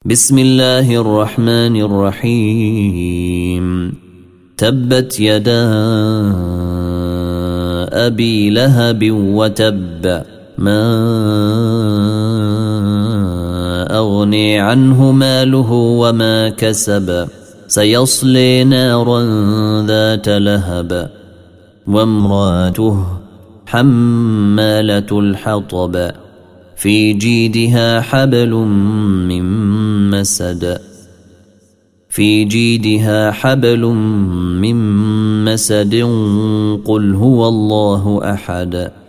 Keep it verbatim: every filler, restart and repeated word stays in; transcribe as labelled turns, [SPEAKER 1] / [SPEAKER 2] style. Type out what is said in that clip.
[SPEAKER 1] بسم الله الرحمن الرحيم تبت يدا أبي لهب وتب ما أغني عنه ماله وما كسب سيصلي نارا ذات لهب وامراته حمالة الحطب في جيدها حبل من مسد في جيدها حبل من مسد قل هو الله أحد